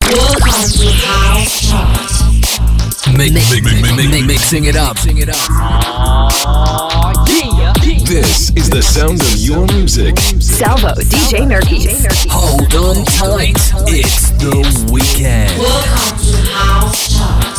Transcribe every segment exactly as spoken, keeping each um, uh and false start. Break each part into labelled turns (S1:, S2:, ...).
S1: Welcome to House Chart.
S2: Mix, mix, mix, mix, mix, mixing it up. Mixing it up.
S3: Oh, yeah.
S4: This is the sound of your music.
S5: Salvo, D J Nerkis.
S2: Hold on tight. It's the weekend.
S1: Welcome to House Chart.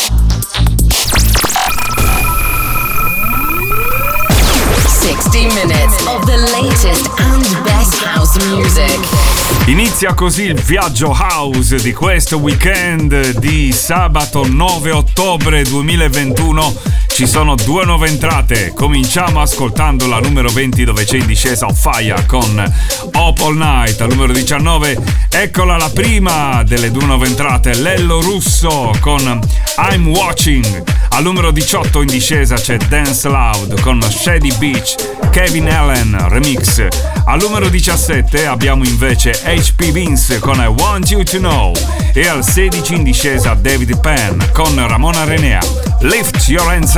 S5: sixty minutes of the latest and best house music.
S6: Inizia così il viaggio house di questo weekend di sabato nove ottobre duemilaventuno. Ci sono due nuove entrate. Cominciamo ascoltando la numero venti, dove c'è in discesa On Fire con Up All Night. Al numero diciannove, eccola la prima delle due nuove entrate, Lello Russo con I'm Watching. Al numero diciotto in discesa c'è Dance Loud con Shady Beach, Kevin Allen remix. Al numero diciassette abbiamo invece H P Vince con I Want You To Know. E al sedici in discesa David Penn con Ramona Renea, Lift Your Hands Up.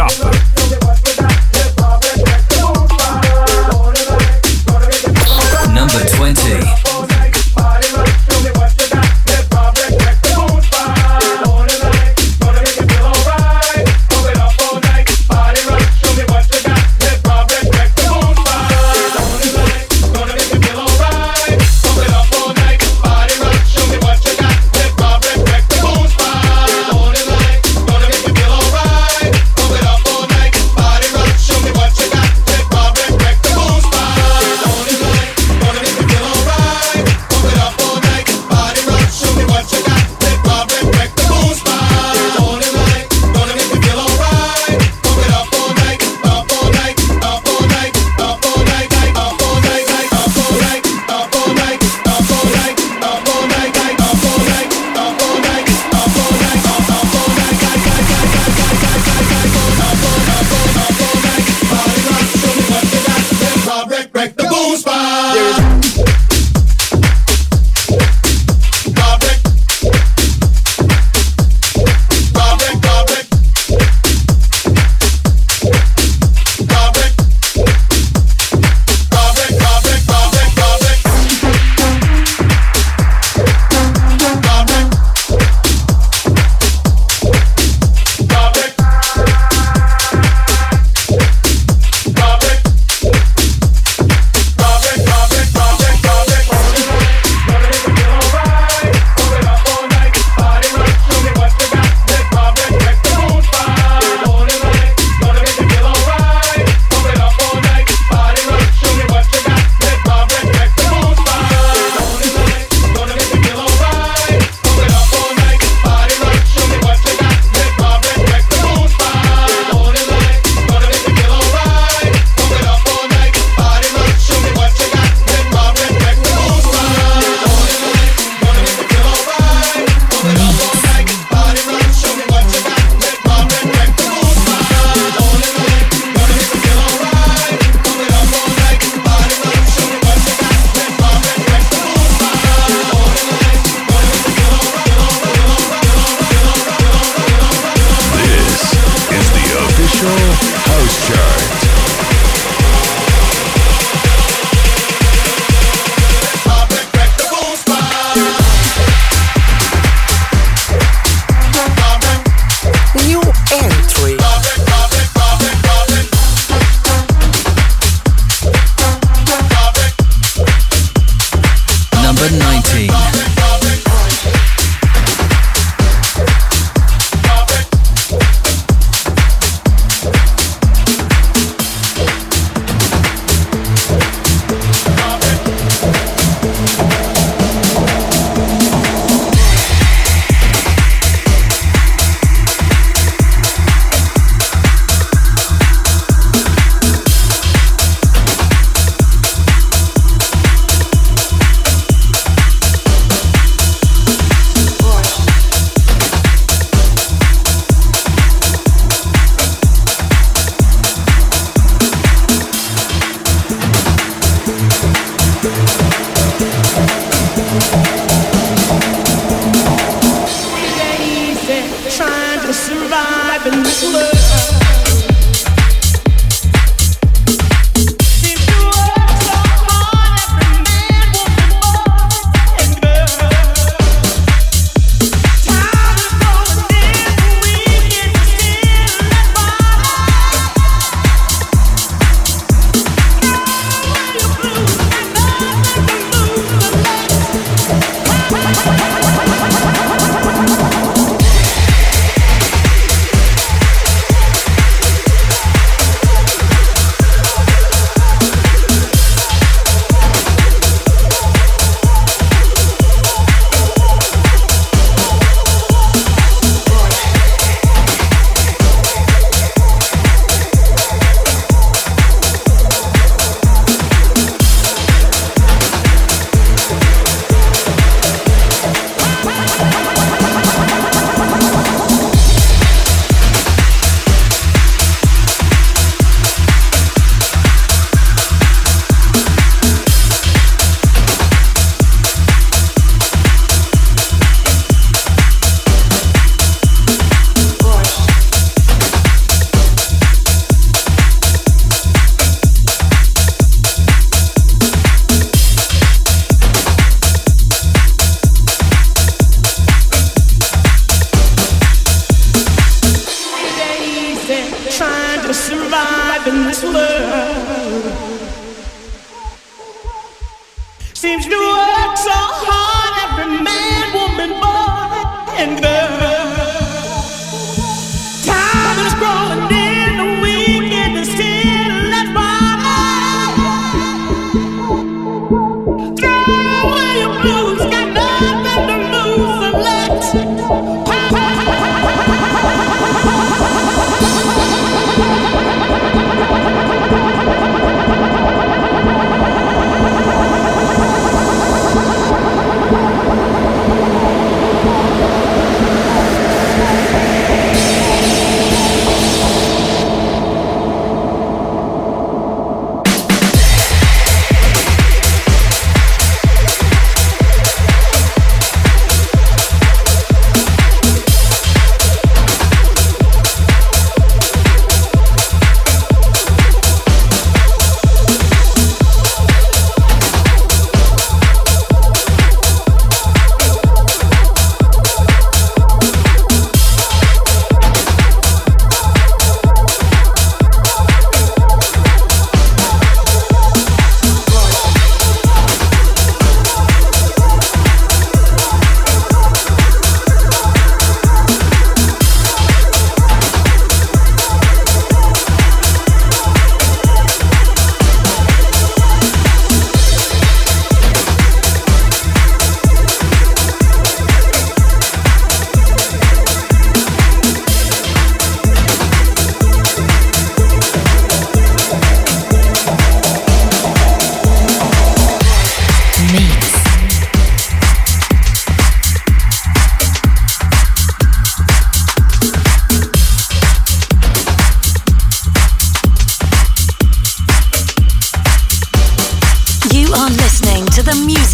S2: Number twenty.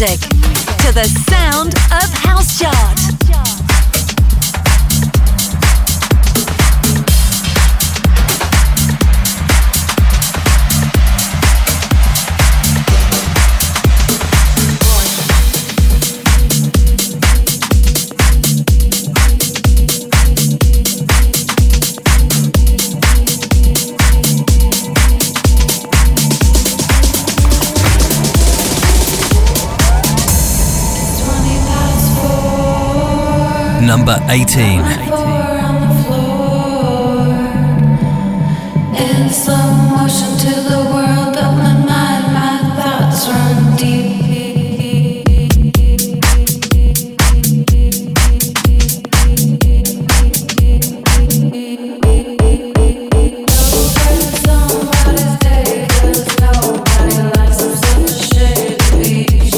S7: music to the sound of House Chart.
S2: Number eighteen.
S8: In slow motion to the world of my mind, my thoughts run deep. Somebody's day, 'cause nobody likes them such a shady beach.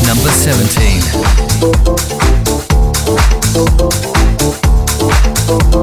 S2: seventeen.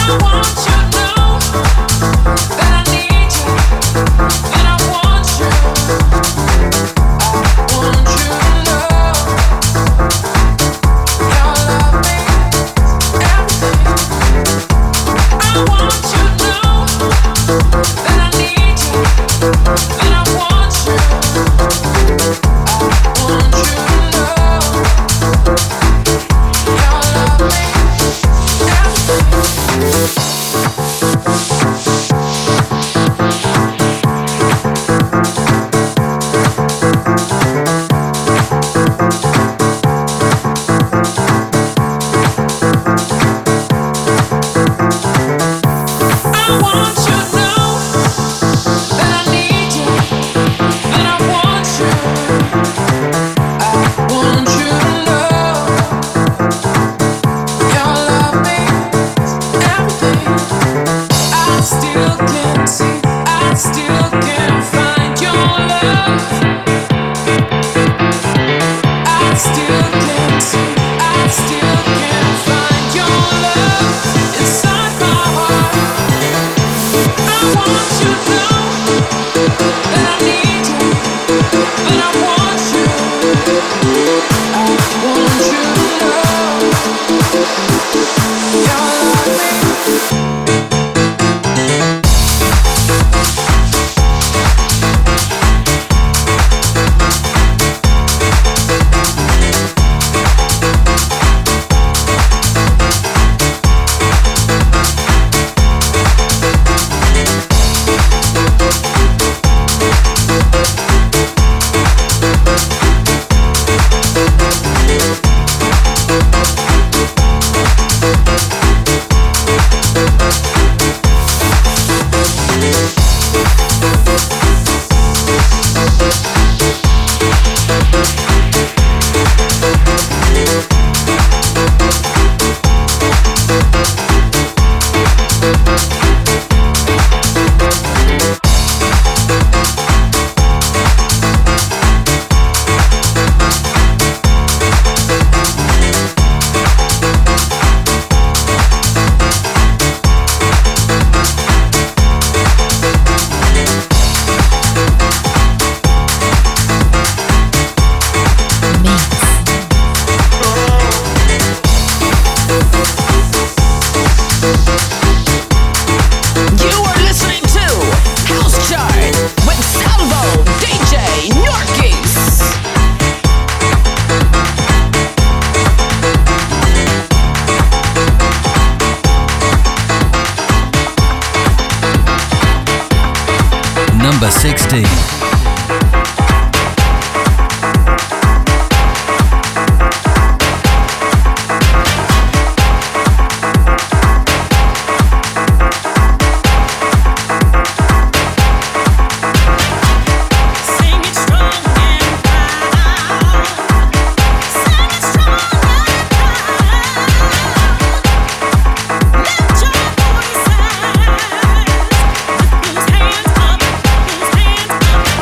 S2: Number sixteen.
S9: Hands up,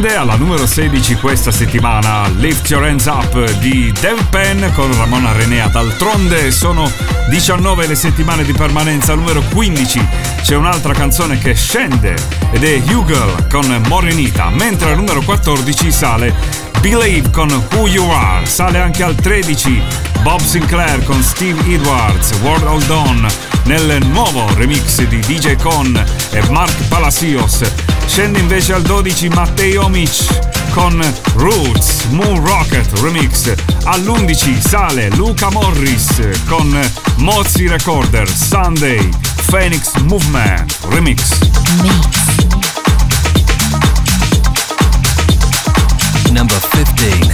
S6: Scende alla numero sedici questa settimana Lift Your Hands Up di Dave Penn con Ramona Renea. D'altronde sono diciannove le settimane di permanenza. Al numero quindici c'è un'altra canzone che scende ed è Hugel con Morenita, mentre al numero quattordici sale Believe con Who You Are. Sale anche al tredici Bob Sinclair con Steve Edwards, World Hold On, nel nuovo remix di D J Con e Mark Palacios. Scende invece al dodici Matteo Omic con Roots, Moon Rocket remix. All'undici sale Luca Morris con Mozzi Recorder, Sunday, Phoenix Movement remix.
S2: Number fifteen.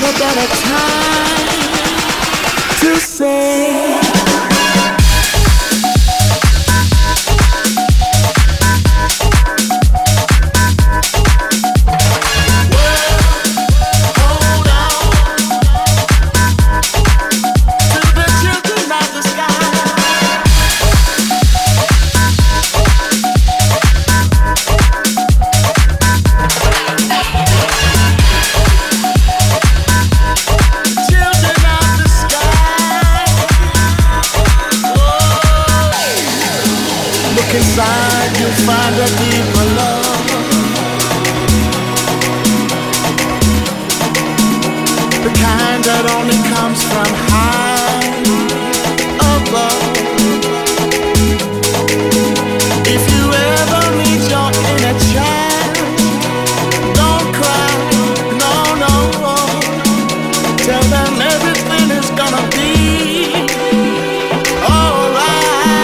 S9: never better time to say. Inside you'll find a deeper love, the kind that only comes from high above. If you ever meet your inner child, don't cry, no, no. Tell them everything is gonna be alright.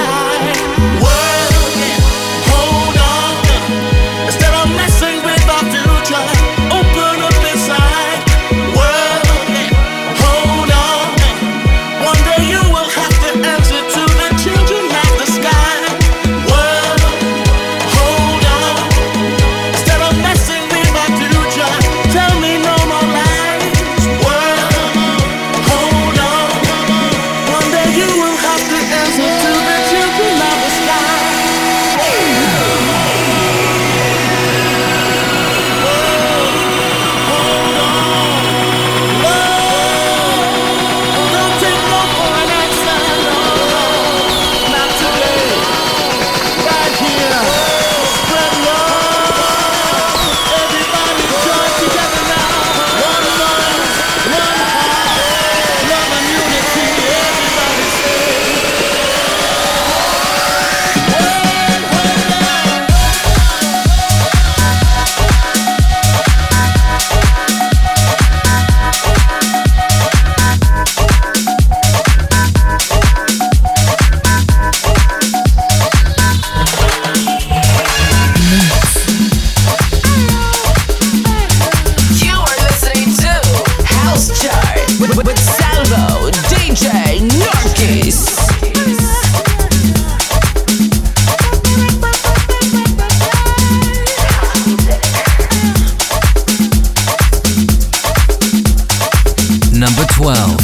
S2: Number twelve.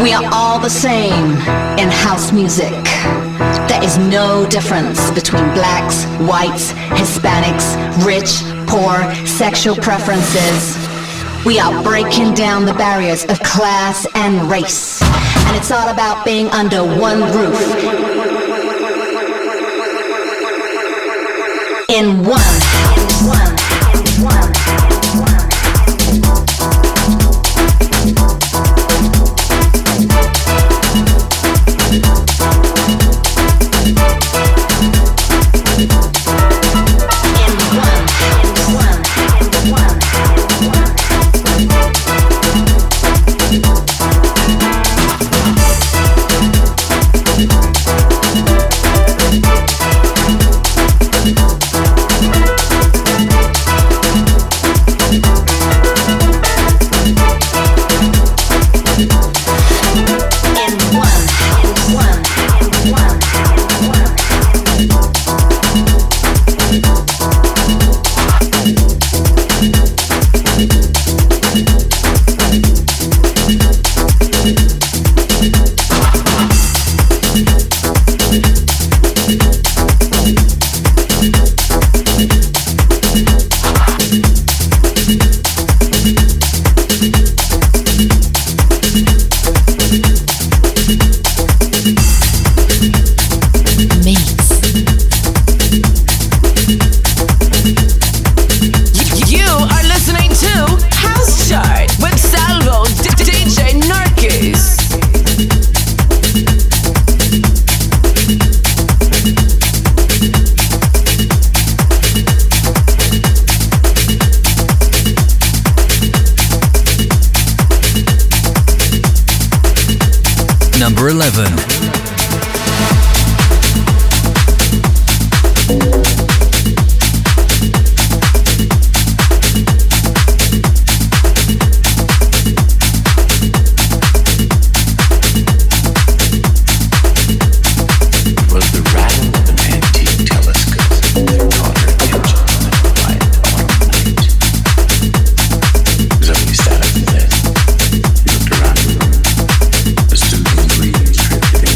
S5: We are all the same in house music. There is no difference between blacks, whites, Hispanics, rich, poor, sexual preferences. We are breaking down the barriers of class and race. And it's all about being under one roof. In one, in one, in one.
S2: Number eleven.
S10: Trip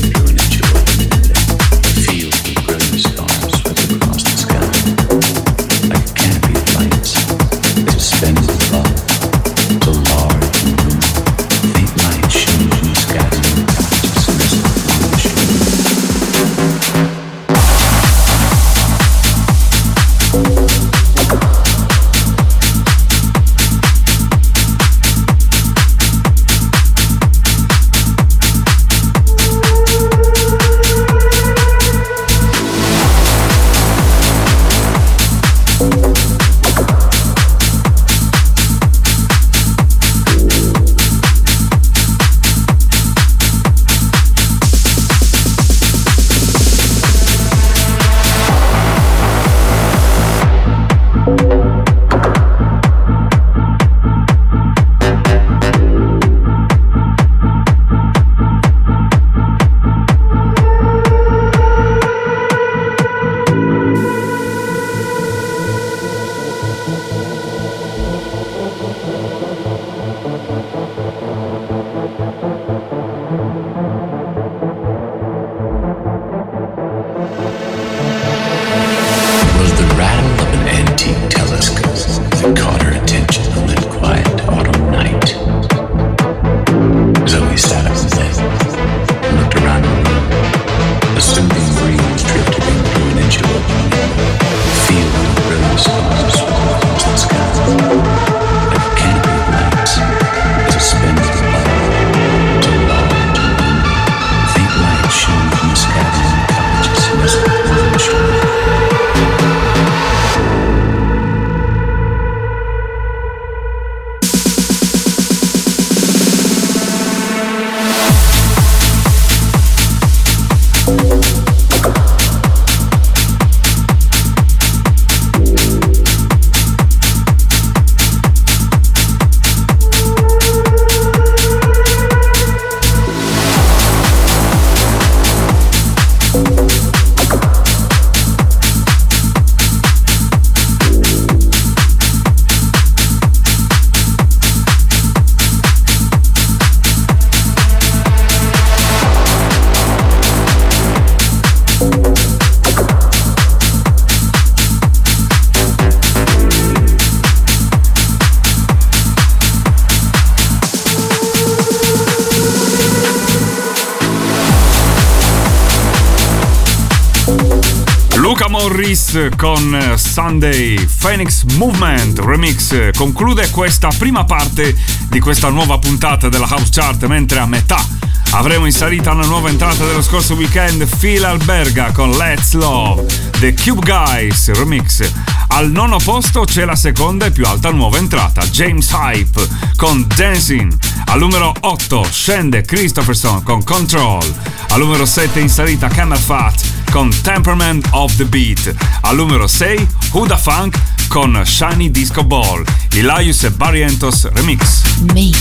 S6: Luca Morris con Sunday Phoenix Movement Remix conclude questa prima parte di questa nuova puntata della House Chart, mentre a metà avremo in salita una nuova entrata dello scorso weekend, Phil Alberga con Let's Love, The Cube Guys Remix. Al nono posto c'è la seconda e più alta nuova entrata, James Hype con Dancing. Al numero otto scende Christopherson con Control. Al numero sette in salita Camel Fat con Temperament of the Beat. Al numero sei Huda Funk con Shiny Disco Ball. Elias e Barrientos Remix.
S7: Mix.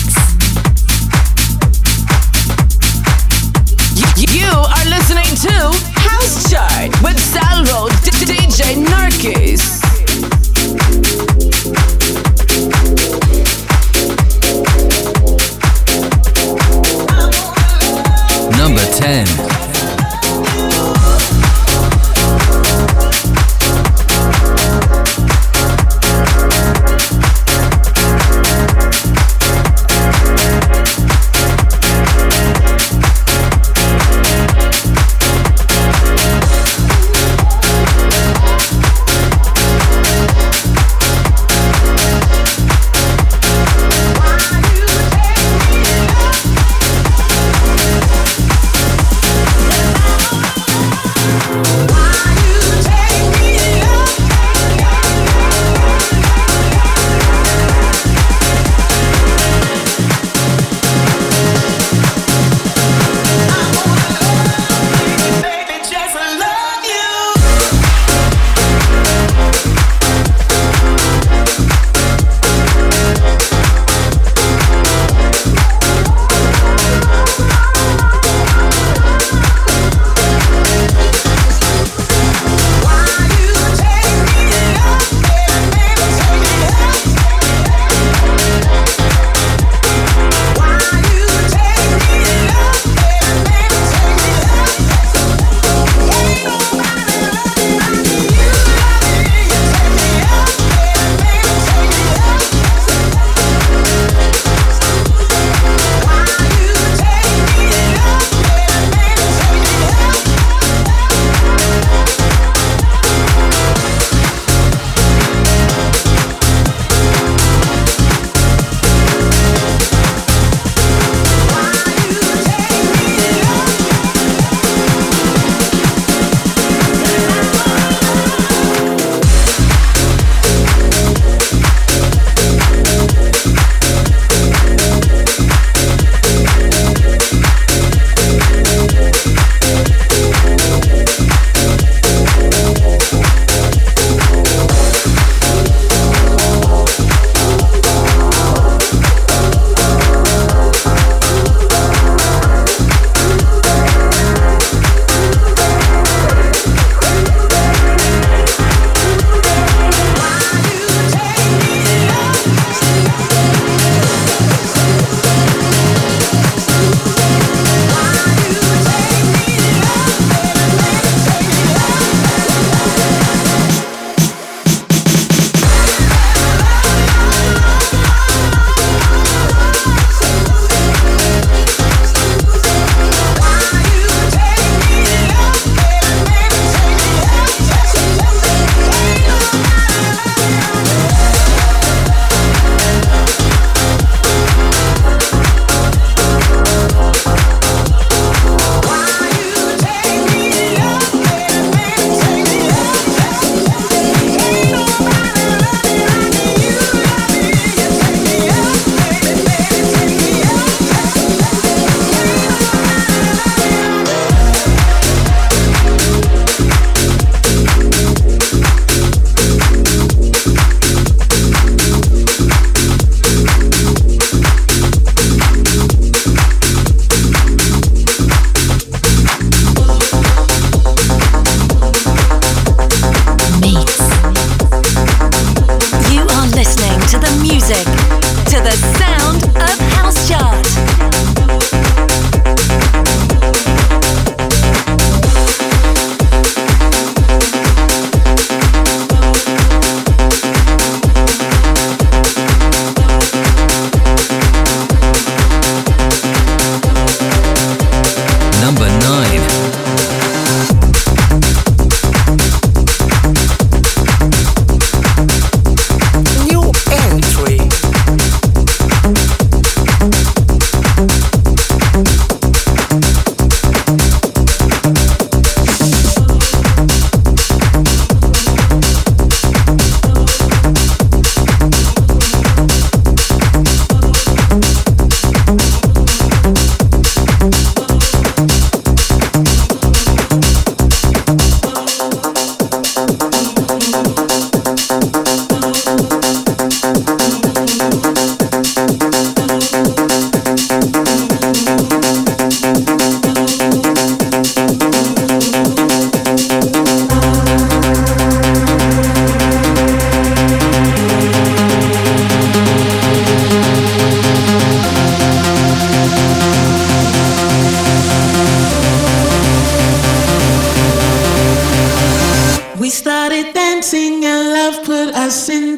S10: You are listening to House Chart with Salvo D J Narkis.
S2: Number ten.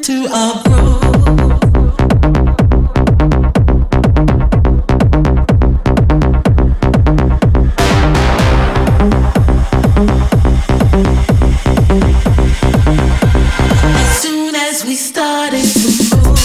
S11: into our groove. As soon as we started to move.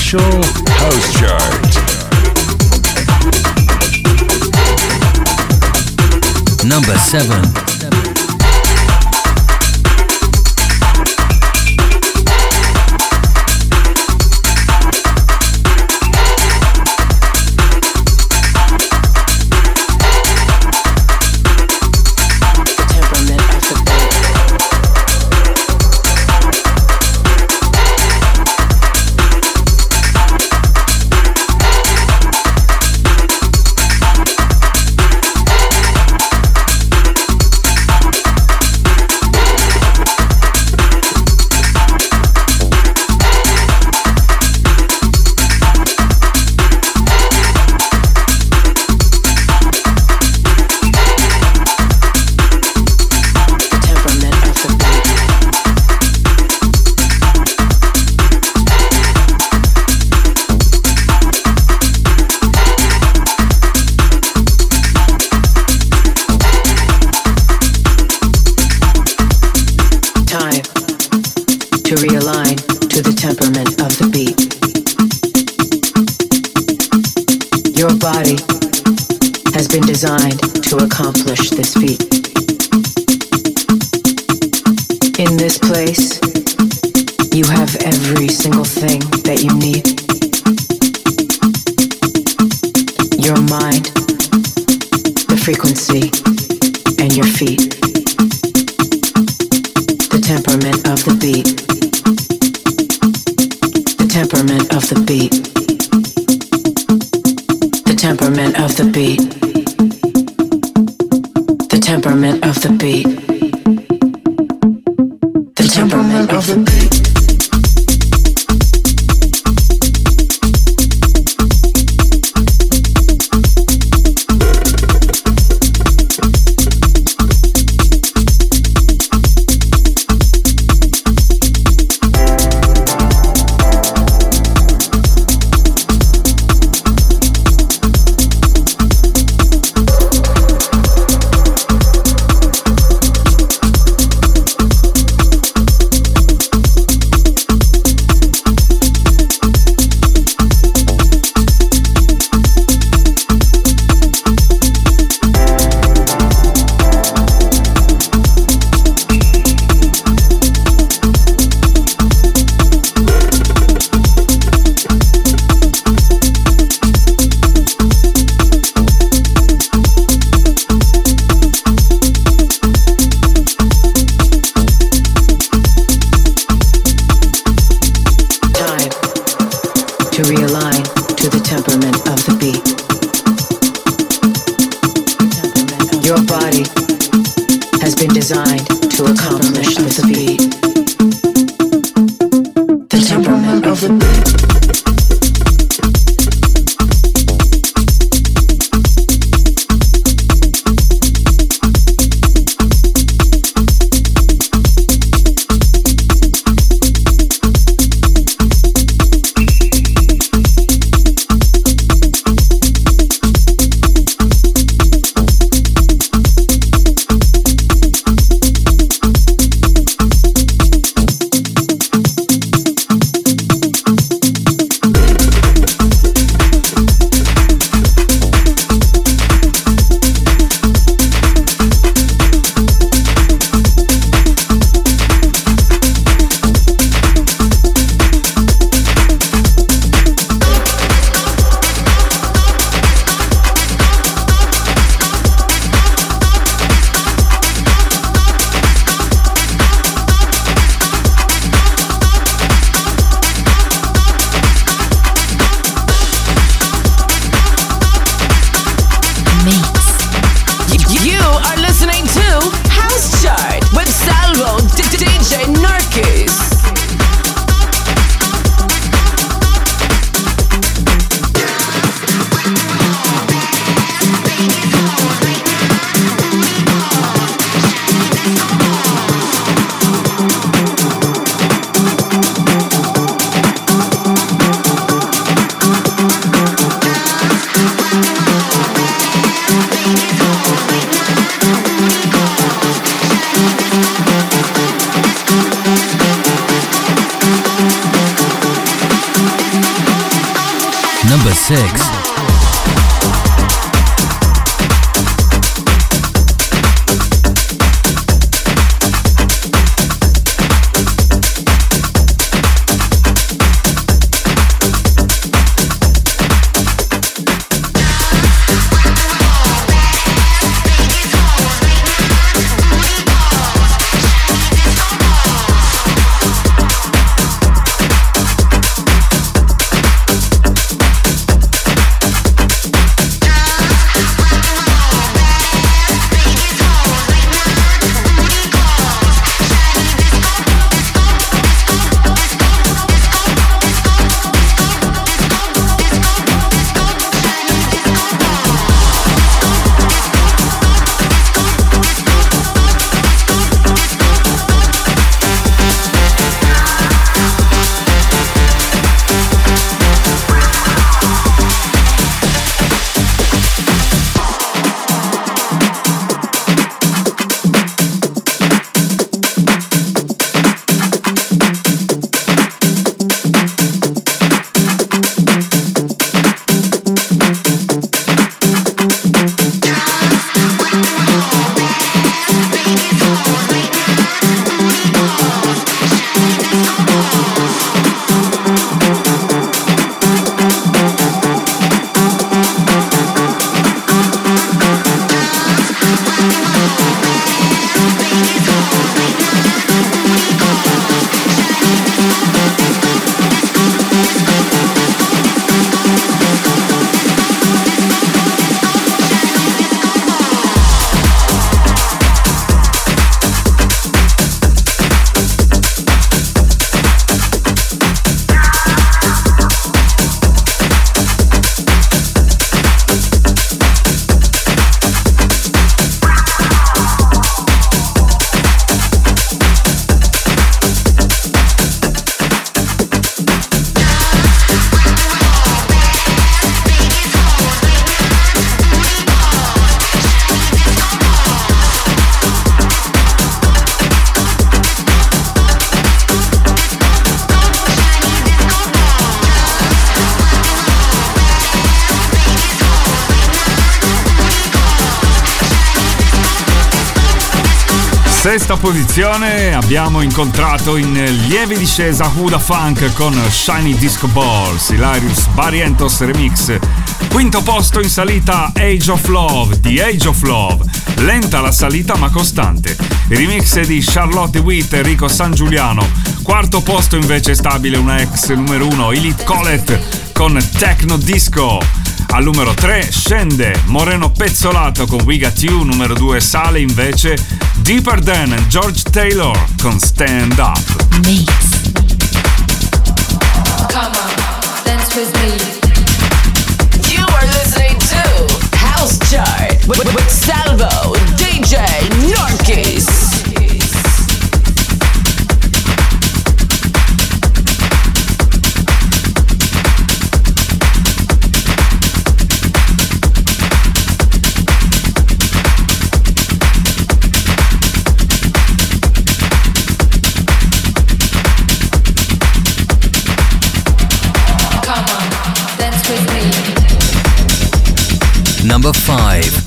S4: official house chart.
S2: Number seven.
S12: Designed to accomplish this feat. In this place, you have every single thing that you need. Your mind, the frequency, and your feet. The temperament of the beat. The temperament of the beat. The temperament of the beat. The temperament of the beat. The temperament of the beat.
S2: six.
S6: Sesta posizione abbiamo incontrato in lieve discesa Huda Funk con Shiny Disco Balls, Hilarious Barrientos Remix. Quinto posto in salita Age of Love, The Age of Love, lenta la salita ma costante. Il remix di Charlotte Witt e Enrico San Giuliano. Quarto posto invece stabile una ex numero uno, Elite Colette con Techno Disco. Al numero tre scende Moreno Pezzolato con We Got You. Numero due sale invece Deeper Than George Taylor con Stand Up.
S7: Mix.
S8: Come on, dance with me.
S10: You are listening to House Chart with, with Salvo, D J Norkis.
S2: Number five.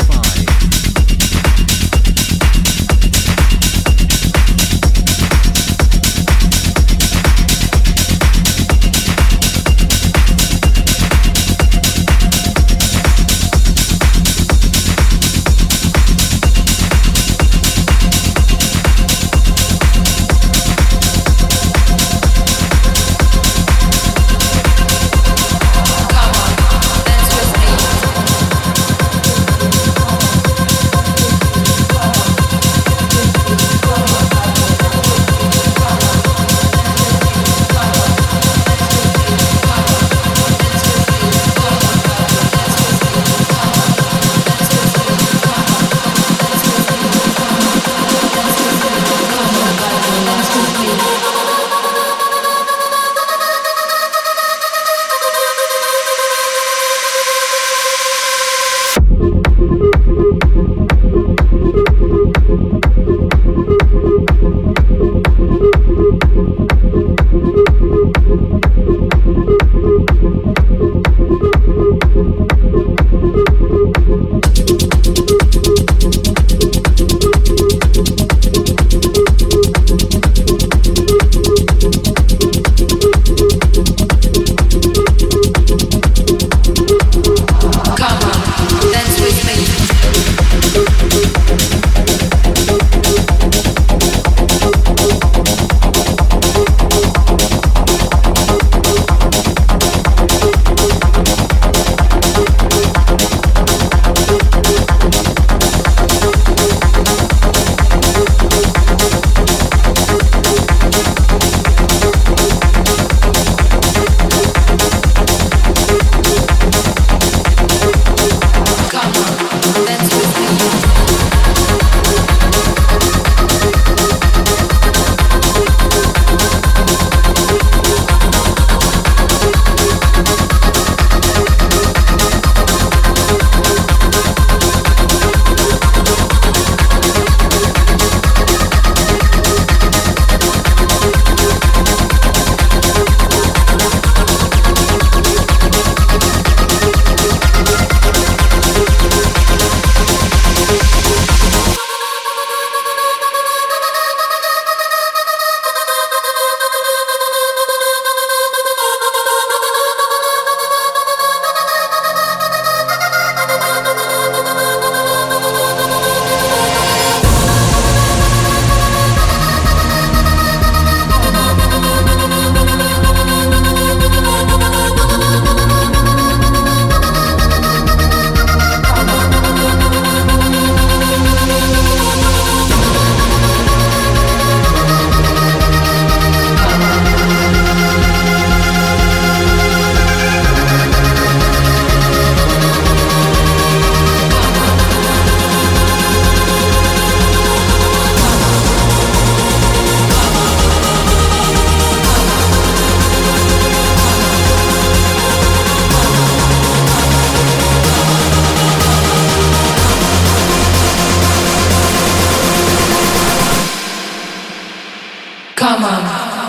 S8: Come on, dance with me.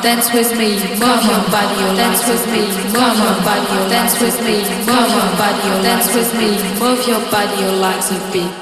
S8: dance with me, move your body, dance with me, move your body, dance with me, move your body, dance with me, move your body, your legs a beat.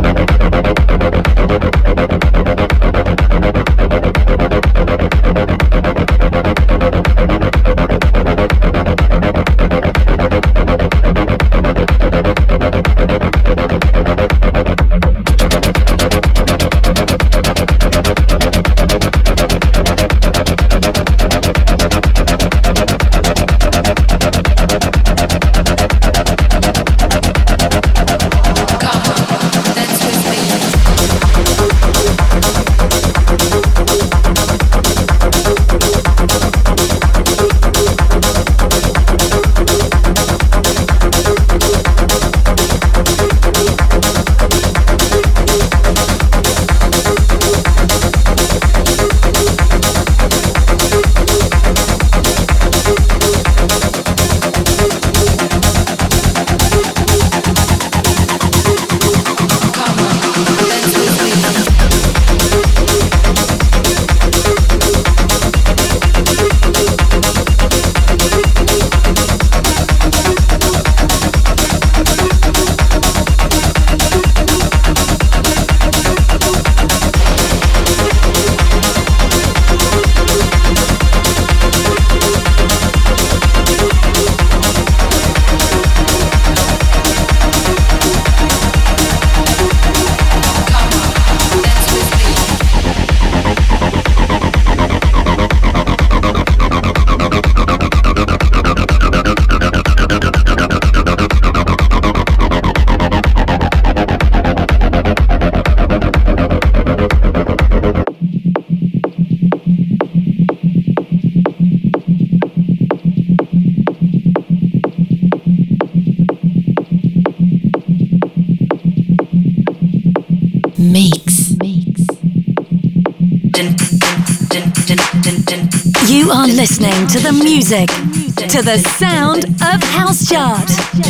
S7: You are listening to the music, to the sound of House Chart.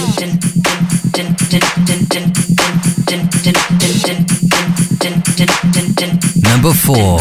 S2: Number four.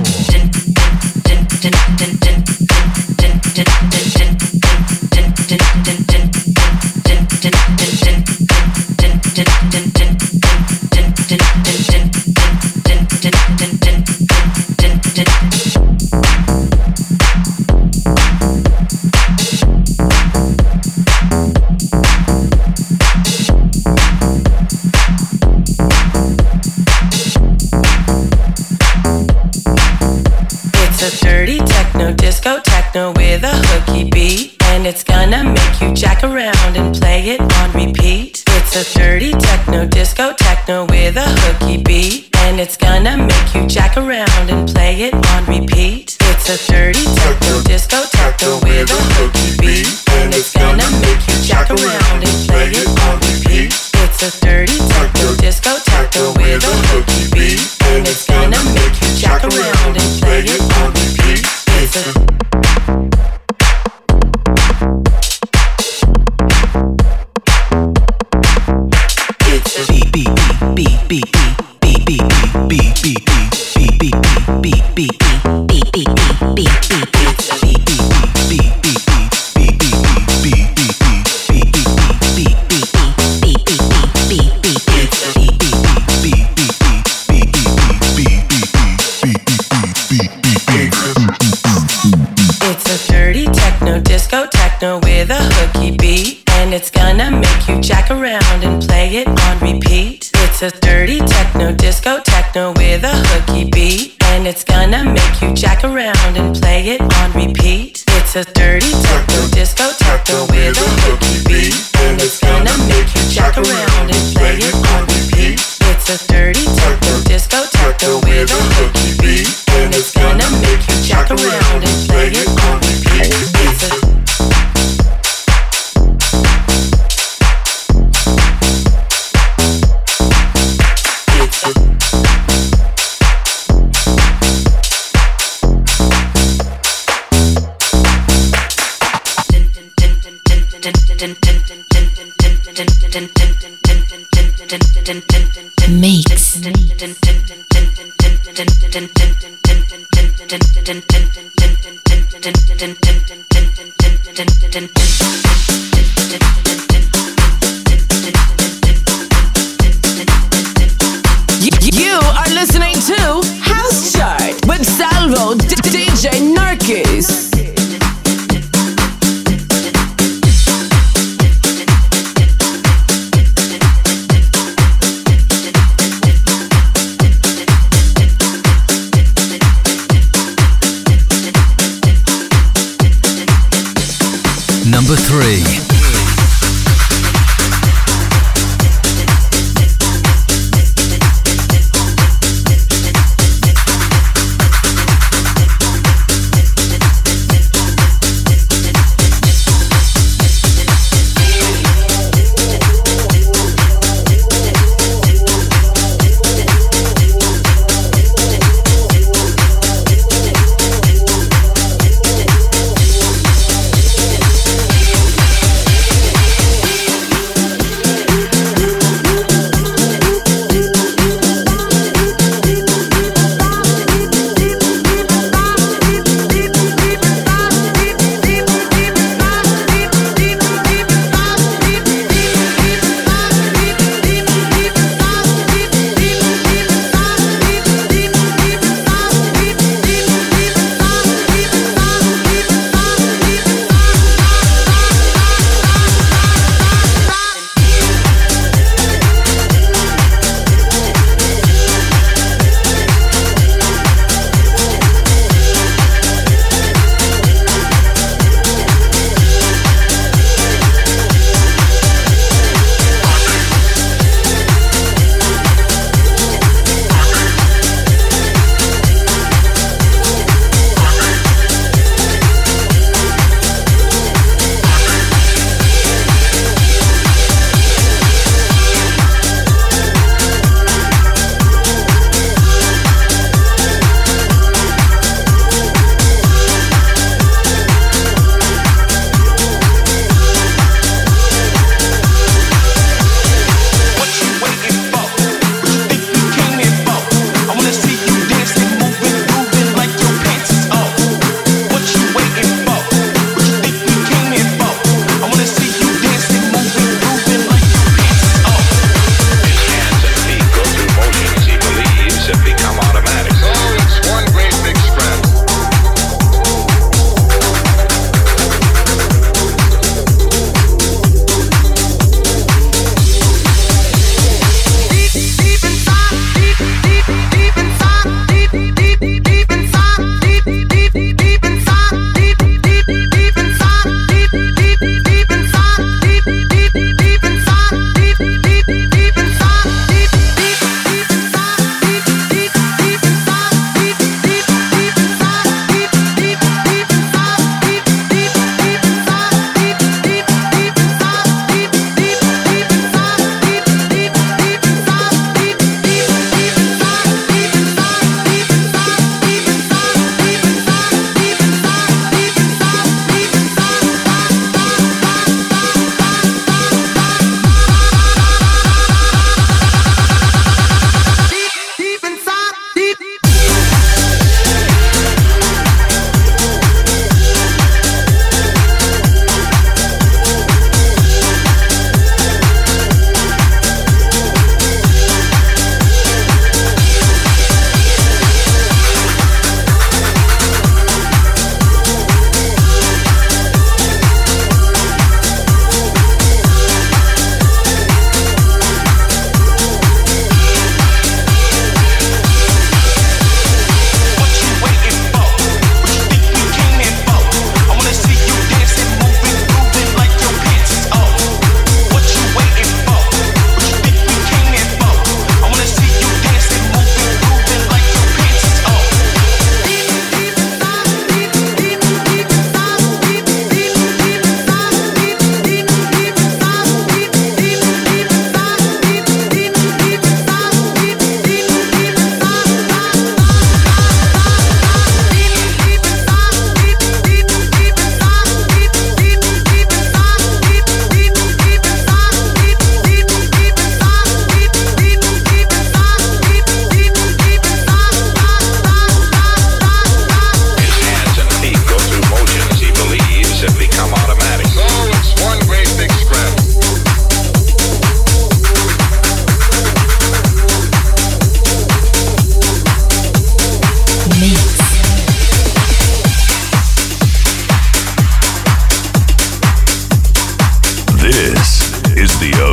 S13: Disco techno with a hooky beat, and it's gonna make you jack around and play it on repeat. It's a dirty techno, disco techno with a hooky beat, and it's gonna make you jack around and play it on repeat. It's a dirty techno, disco techno with a hooky beat, and it's gonna make you jack around and play it on repeat. It's a dirty techno, disco techno with a hooky beat, and it's gonna make you jack around and play it on repeat. It's a beat beat beat beat beat beat beat beat beat beat beat beat beat beat beat beat beat beat beat it's a beat beat beat beat beat beat beat beat beat beat beat beat beat beat beat beat it's a beat beat beat beat beat beat beat beat it's a dirty techno disco techno with a hooky beat, and it's gonna make you jack around and play it on repeat. It's a dirty techno disco techno with a hooky beat, and it's gonna make you jack around and play it on repeat. It's a dirty techno disco techno with a hooky beat, and it's gonna make you jack around and play it on repeat. It's a dirty techno disco techno with a hooky beat, and it's gonna make you jack around and play it on repeat. It's a
S7: Mix.
S10: You are listening to House Chart with Salvo, D J Narkis.
S2: Number three.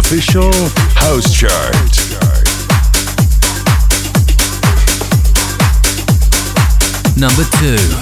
S4: official house chart.
S2: Number two.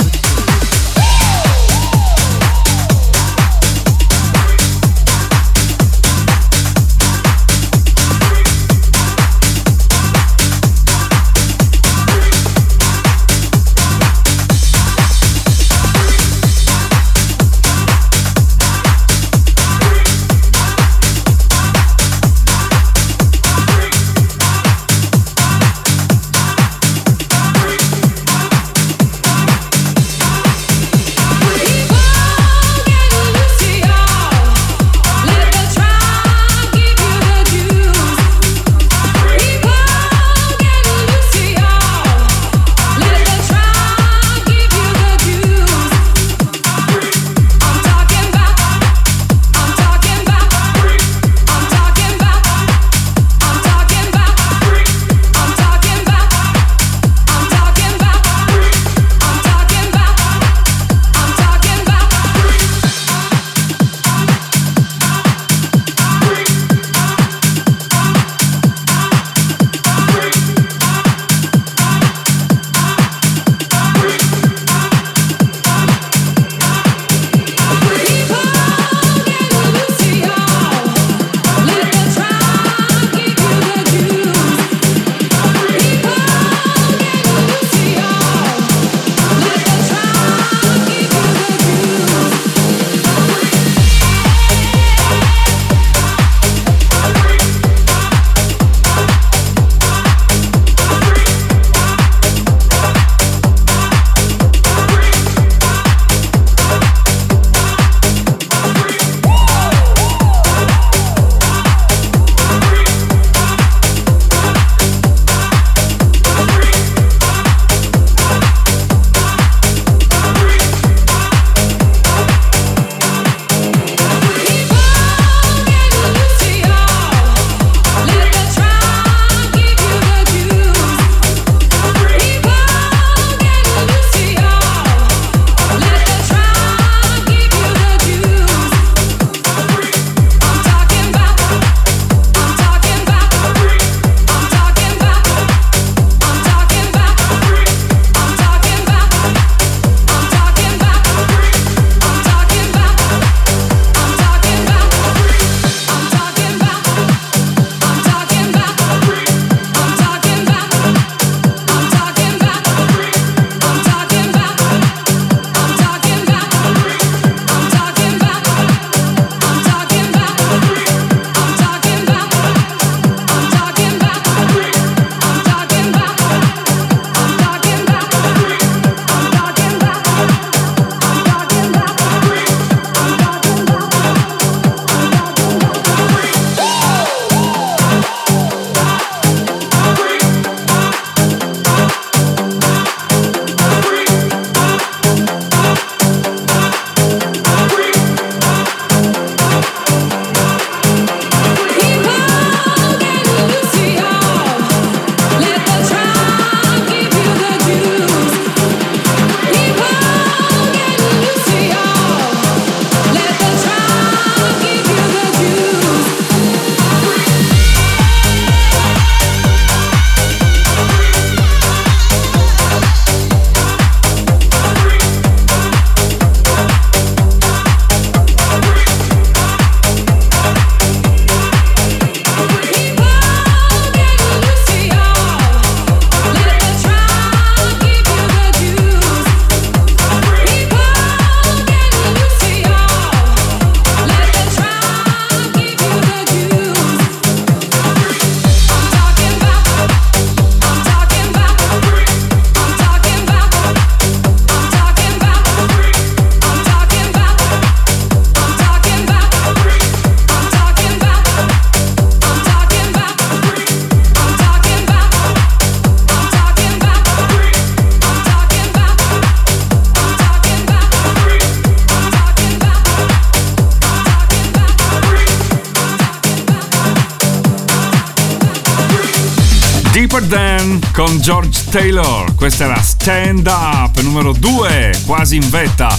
S6: Deeper Than con George Taylor. Questa era Stand Up, numero due, quasi in vetta.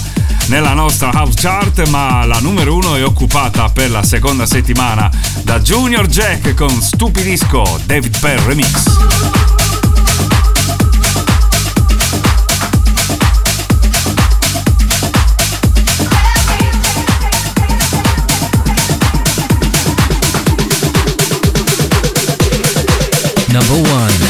S6: nella nostra House Chart, ma la numero uno è occupata per la seconda settimana da Junior Jack con Stupidisco, David Penn Remix.
S2: Number one.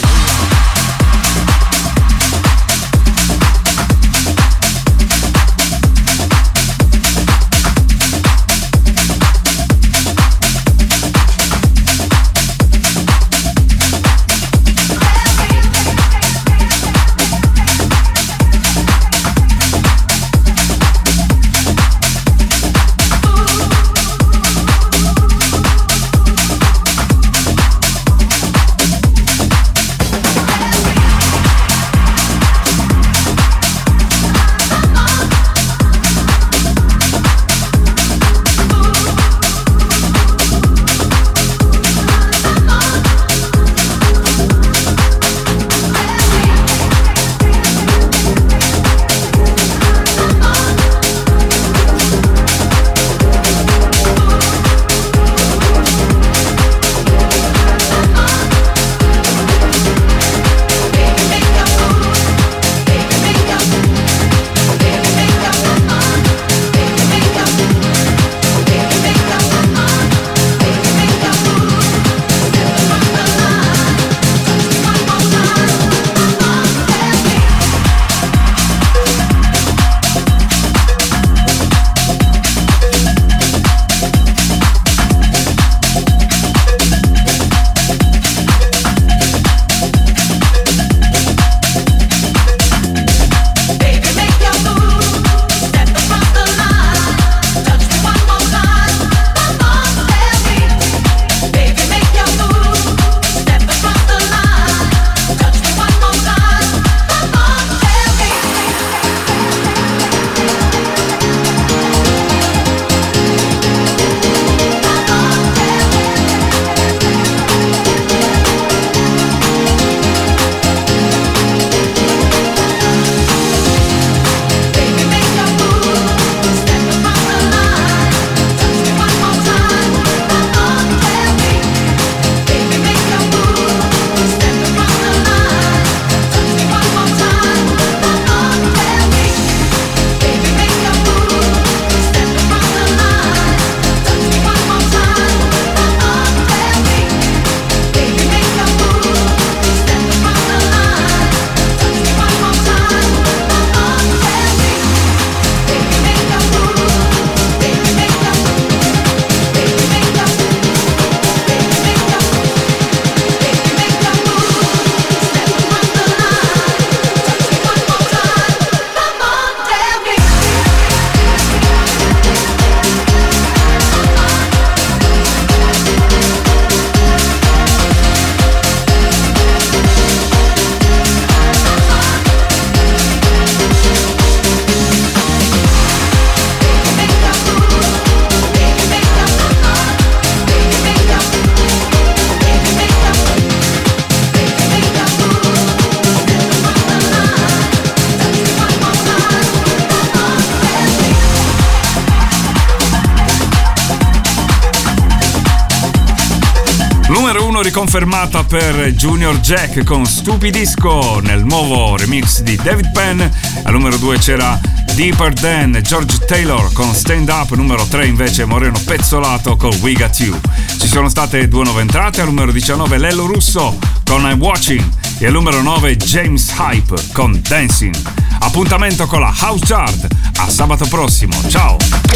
S6: Riconfermata per Junior Jack con Stupidisco nel nuovo remix di David Penn. Al numero due c'era Deeper Than George Taylor con Stand Up. Numero tre invece Moreno Pezzolato con We Got You. Ci sono state due nuove entrate. Al numero diciannove Lello Russo con I'm Watching e al numero nove James Hype con Dancing. Appuntamento con la House Chart a sabato prossimo. Ciao.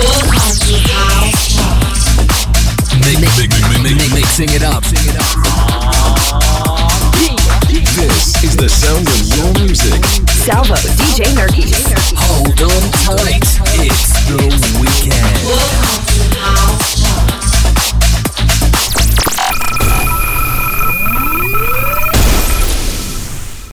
S2: Mix, mix, mix, mix, mixing it up. This is the sound of your music.
S12: Salvo, D J Nurkies.
S2: Hold on tight.